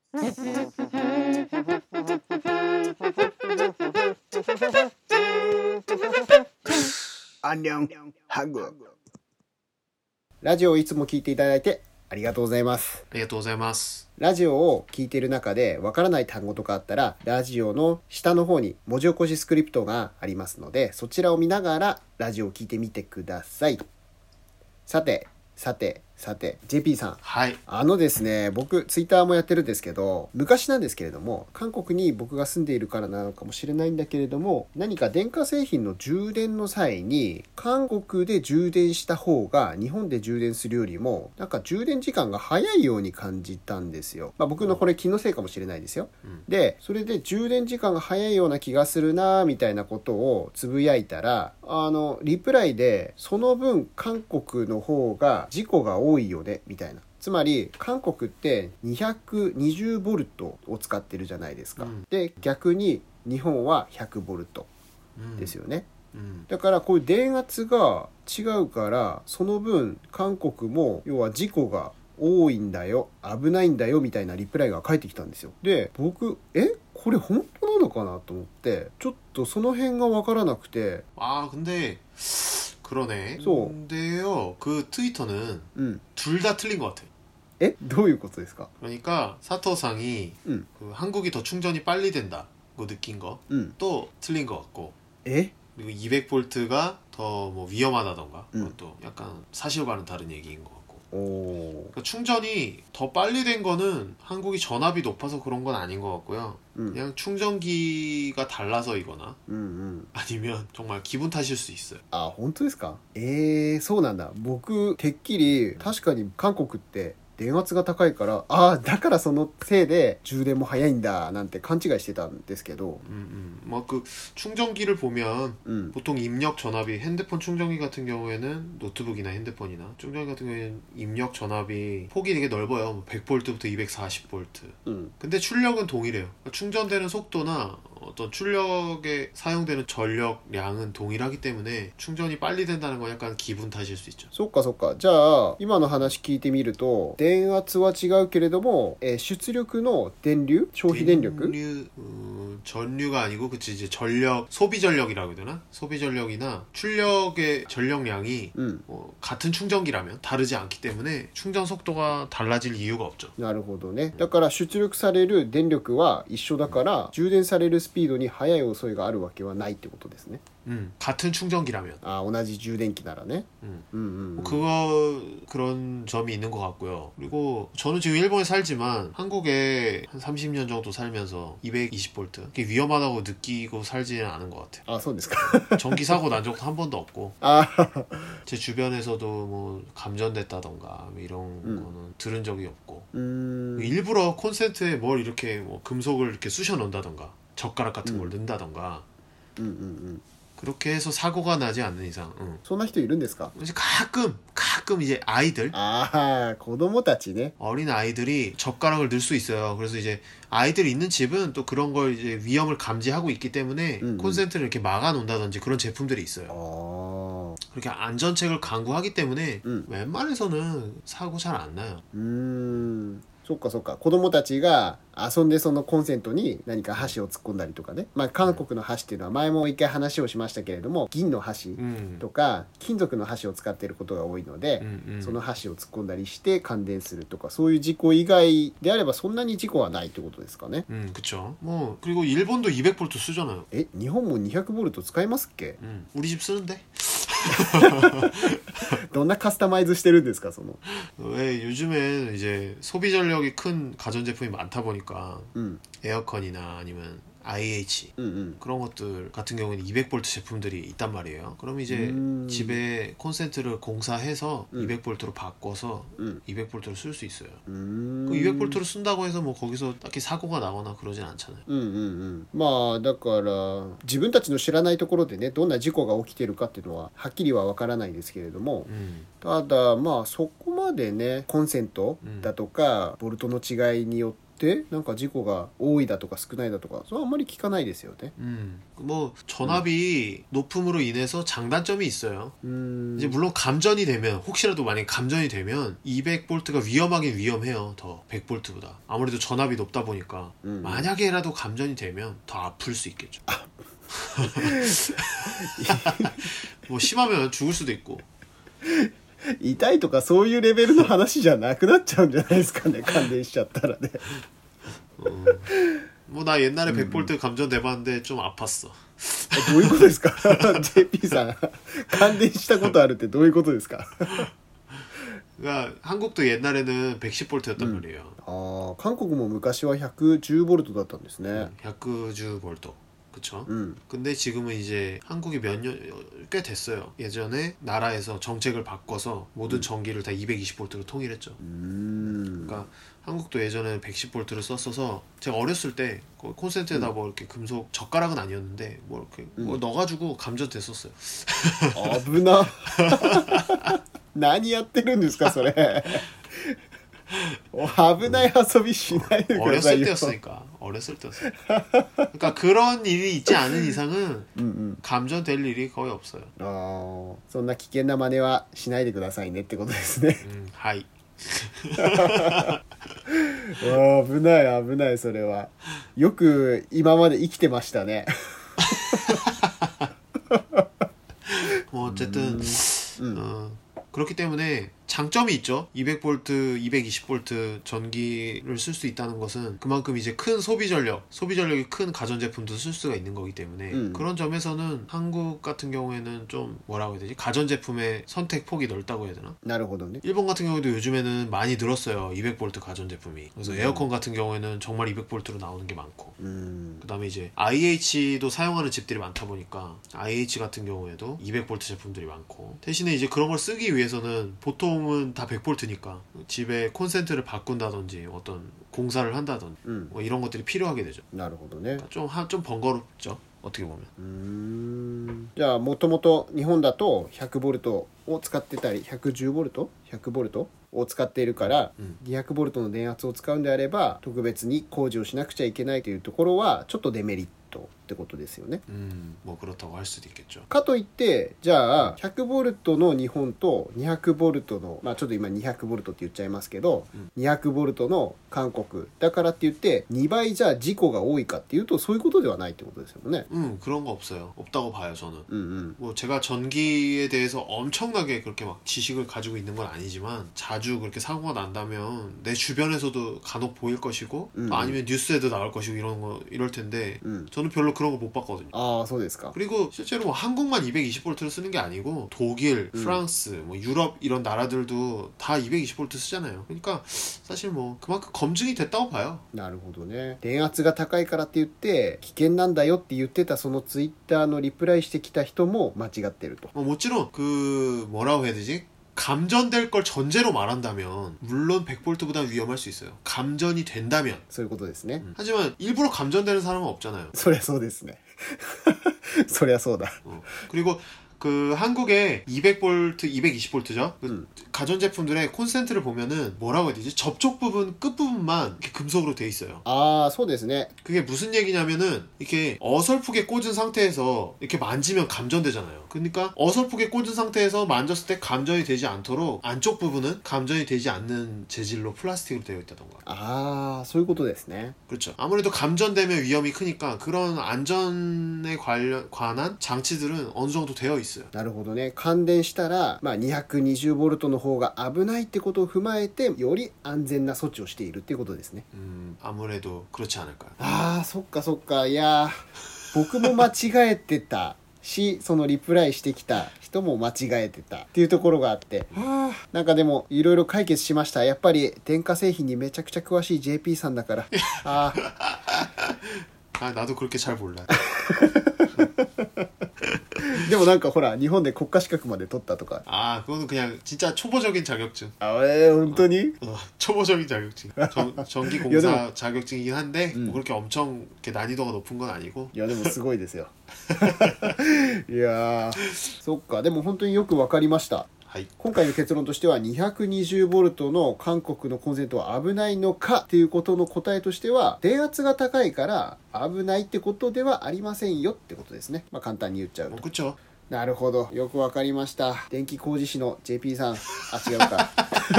안녕 한국ラジオをいつも聞いていただいてありがとうございます。 ありがとうございます。 ラジオを聞いている中でわからない単語とかあったら、ラジオの下の方に文字起こしスクリプトがありますので、そちらを見ながらラジオを聞いてみてください。さて JP さん、 はい。 ですね、僕ツイッターもやってるんですけど、昔なんですけれども、韓国に僕が住んでいるからなのかもしれないんだけれども、何か電化製品の充電の際に韓国で充電した方が日本で充電するよりもなんか充電時間が早いように感じたんですよ。僕のこれ気のせいかもしれないですよ。でそれで充電時間が早いような気がするなみたいなことをつぶやいたら、リプライでその分韓国の方が事故が多いよねみたいな。つまり韓国って220ボルトを使ってるじゃないですか。で逆に日本は100ボルトですよね。だからこういう電圧が違うから、その分韓国も要は事故が多いんだよ、危ないんだよみたいなリプライが返ってきたんですよ。で僕これ本当なのかなと思って、ちょっとその辺が分からなくて。 근데 소. 근데요, 그 트위터는 둘 다 틀린 것 같아. どういうことですか? 그러니까 사토상이 그 한국이 더 충전이 빨리 된다고 느낀 거 또 틀린 것 같고. 그리고 200볼트가 더 뭐 위험하다던가 그것도 약간 사실과는 다른 얘기인 것 같고. 그러니까 충전이 더 빨리 된 거는 한국이 전압이 높아서 그런 건 아닌 것 같고요. 그냥 충전기가 달라서이거나 아니면 정말 기분 탓일 수 있어요. 本当ですか? そうなんだ。僕てっきり確かに韓国って電圧が高いから、だからそのせいで充電も早いんだなんて勘違いしてたんですけど。 그 충전기를 보면 보통 입력 전압이 핸드폰 충전기 같은 경우에는 노트북이나 핸드폰이나 충전기 같은 경우에는 입력 전압이 폭이 되게 넓어요. 100볼트부터 240볼트. 근데 출력은 동일해요. 그러니까 충전되는 속도나 어떤 출력에 사용되는 전력량은 동일하기 때문에 충전이 빨리 된다는 건 약간 기분 탓일 수 있죠. そっかそっか。じゃあ今の話聞いてみると、電圧は違うけれども、出力の電流、消費電力、 전류가 아니고 그치 이제 전력, 소비 전력이라고 해야 되나? 소비 전력이나 출력의 전력량이 같은 충전기라면 다르지 않기 때문에 충전 속도가 달라질 이유가 없죠. なるほどね。だから出力される電力は一緒だから、充電されるスピードに速い遅いがあるわけはないってことですね。 같은 충전기라면. 同じ充電器ならね。 그런 점이 있는 것 같고요. 그리고 저는 지금 일본에 살지만 한국에 한 30년 정도 살면서 220볼트 그게 위험하다고 느끼고 살지는 않은 것 같아요. そうですか。 전기 사고 난 적도 한 번도 없고 제 주변에서도 뭐 감전됐다던가 이런 거는 들은 적이 없고 일부러 콘센트에 뭘 이렇게 뭐 금속을 이렇게 쑤셔 넣는다던가 젓가락 같은 걸 넣는다던가 그렇게 해서 사고가 나지 않는 이상. そんな人いるんですか? 이제 가끔 이제 아이들, 子供たちね. 어린 아이들이 젓가락을 넣을 수 있어요. 그래서 이제 아이들이 있는 집은 또 그런 걸 이제 위험을 감지하고 있기 때문에 콘센트를 이렇게 막아 놓는다든지 그런 제품들이 있어요. 그렇게 안전책을 강구하기 때문에 웬만해서는 사고 잘 안 나요. そっかそっか。子供たちが遊んでそのコンセントに何か箸を突っ込んだりとかね。韓国の箸っていうのは前も一回話をしましたけれども、銀の箸とか金属の箸を使っていることが多いので、その箸を突っ込んだりして感電するとか、そういう事故以外であればそんなに事故はないってことですかね。 그쵸. 뭐 그리고 일본도 200볼트 쓰잖아요. 日本も200ボルト使いますっけ? 우리 집 쓰는데. どんなカスタマイズしてるんですか? その 왜 요즘엔 이제 소비 전력이 큰 가전제품이 많다 보니까 에어컨이나 아니면 IH 그런 것들 같은 경우에는 200볼트 제품들이 있단 말이에요. 그럼 이제 집에 콘센트를 공사해서 200볼트로 바꿔서 200볼트를 쓸 수 있어요. 그 200볼트를 쓴다고 해서 뭐 거기서 딱히 사고가 나거나 그러진 않잖아요. だから自分たちの知らないところでね、どんな事故が起きてるかっていうのははっきりはわからないですけれども、ただそこまでね、コンセントだとかボルトの違いによってってなんか事故が多いだとか少ないだとかそれはあんまり聞かないですよね。 뭐 전압이 높음으로 인해서 장단점이 있어요. 이제 물론 감전이 되면 혹시라도 만약에 감전이 되면 200V가 위험하긴 위험해요. 더 100V보다. 아무래도 전압이 높다 보니까 만약에라도 감전이 되면 더 아플 수 있겠죠. 뭐 심하면 죽을 수도 있고. 痛いとかそういうレベルの話じゃなくなっちゃうんじゃないですかね感電しちゃったらね。 뭐 나 옛날에 100V 감전 돼봤는데 좀 아팠어. どういうことですかJP さん感電したことあるってどういうことですか 그러니까 한국도 옛날에는 110V였단 말이에요. 아, 한국은昔は 110V だったんですね. 110V. 그쵸? 근데 지금은 이제 한국이 몇 년, 꽤 됐어요. 예전에 나라에서 정책을 바꿔서 모든 전기를 다 220V로 통일했죠. 그러니까 한국도 예전에 110V를 썼어서 제가 어렸을 때 콘센트에다 뭐 이렇게 금속 젓가락은 아니었는데 뭐 이렇게 뭐 넣어가지고 감전됐었어요. 危な何やってるんですかそれ危ない遊びしないでくださいよ。 어렸을 때였으니까. 어렸을 때였어요. 그러니까 그런 일이 있지 않은 이상은 감전될 일이 거의 없어요. そんな危険な真似はしないでくださいねってことですね。 はい。 危ない危ないそれは。よく今まで生きてましたね。 뭐 어쨌든 그렇기 때문에 장점이 있죠. 200V, 220V 전기를 쓸 수 있다는 것은 그만큼 이제 큰 소비전력이 큰 가전제품도 쓸 수가 있는 거기 때문에 그런 점에서는 한국 같은 경우에는 좀 뭐라고 해야 되지? 가전제품의 선택 폭이 넓다고 해야 되나? なるほどね. 일본 같은 경우에도 요즘에는 많이 늘었어요. 200V 가전제품이. 그래서 에어컨 같은 경우에는 정말 200V로 나오는 게 많고 그 다음에 이제 IH도 사용하는 집들이 많다 보니까 IH 같은 경우에도 200V 제품들이 많고 대신에 이제 그런 걸 쓰기 위해서는 보통은 다 100V니까 집에 콘센트를 바꾼다든지 어떤 공사를 한다든지 뭐 이런 것들이 필요하게 되죠. なるほどね. 좀 번거롭죠. 어떻게 보면. じゃあもともと日本だと 100V を使ってたり 110V、100V を使っているから、200V の電圧を使うんであれば特別に工事をしなくちゃいけないというところはちょっとデメリットってことですよね。 뭐 그렇다고 할 수도 있겠죠. かといってじゃあ 100V の日本と 200V のちょっと今 200V って言っちゃいますけど、200V の韓国だからって言って2倍じゃあ事故が多いかっていうとそういうことではないってことですよね。 그런 거 없어요. 없다고 봐요 저는. 뭐 제가 전기에 대해서 엄청나게 그렇게 막 지식을 가지고 있는 건 아니지만 자주 그렇게 사고가 난다면 내 주변에서도 간혹 보일 것이고 아니면 뉴스에도 나올 것이고 이럴 텐데 저는 별로 그런 거 못 봤거든요. 아, そうですか. 그리고 실제로 뭐 한국만 220V를 쓰는 게 아니고 독일, 프랑스, 뭐 유럽 이런 나라들도 다 220V 쓰잖아요. 그러니까 사실 뭐 그만큼 검증이 됐다고 봐요. なるほどね。電圧が高いからって言って危険なんだよって言ってたそのツイッターのリプライしてきた人も間違ってると. 물론 그 뭐라고 해야 되지? 감전될 걸 전제로 말한다면 물론 100V보다 위험할 수 있어요. 감전이 된다면. そういうことですね. 하지만 일부러 감전되는 사람은 없잖아요. そりゃそうですね. そりゃそうだ. 그리고 그 한국의 200V, 220V죠. 그 가전제품들의 콘센트를 보면은 뭐라고 해야 되지? 접촉 부분, 끝 부분만 이렇게 금속으로 돼 있어요. 아, そうですね. 그게 무슨 얘기냐면은 이렇게 어설프게 꽂은 상태에서 이렇게 만지면 감전되잖아요. 그러니까 어설프게 꽂은 상태에서 만졌을 때 감전이 되지 않도록 안쪽 부분은 감전이 되지 않는 재질로 플라스틱으로 되어 있다던가. 아, そういうことですね. 그렇죠. 아무래도 감전되면 위험이 크니까 그런 안전에 관한 장치들은 어느 정도 되어 있어요. なるほどね。感電したら、220V の方が危ないってことを踏まえてより安全な措置をしているっていうことですね。 아무래도 그렇지 않을까요? ああ、そっかそっか。いや僕も間違えてたし、そのリプライしてきた人も間違えてたっていうところがあって、なんかでもいろいろ解決しました。やっぱり電化製品にめちゃくちゃ詳しい JP さんだから。 나도 그렇게 잘 몰라. でもなんかほら日本で国家資格まで取ったとか. 아, 그거는 그냥 진짜 초보적인 자격증. 아,本当に? 초보적인 자격증. 전기공사 자격증이긴 한데 뭐 그렇게 엄청 이렇게 난이도가 높은 건 아니고. いやでもすごいですよ。いやそっか。でも本当によくわかりました。 はい、 今回の結論としては 220V の韓国のコンセントは危ないのかっていうことの答えとしては、電圧が高いから危ないってことではありませんよってことですね。簡単に言っちゃうと。なるほど、よくわかりました。電気工事士の JP さん、違うか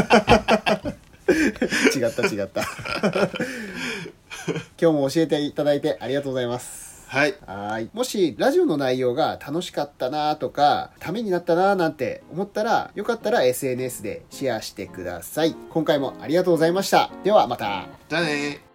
違った今日も教えていただいてありがとうございます。 はい。 もしラジオの内容が楽しかったなとかためになったななんて思ったら、よかったら SNS でシェアしてください。今回もありがとうございました。ではまた。 じゃあね。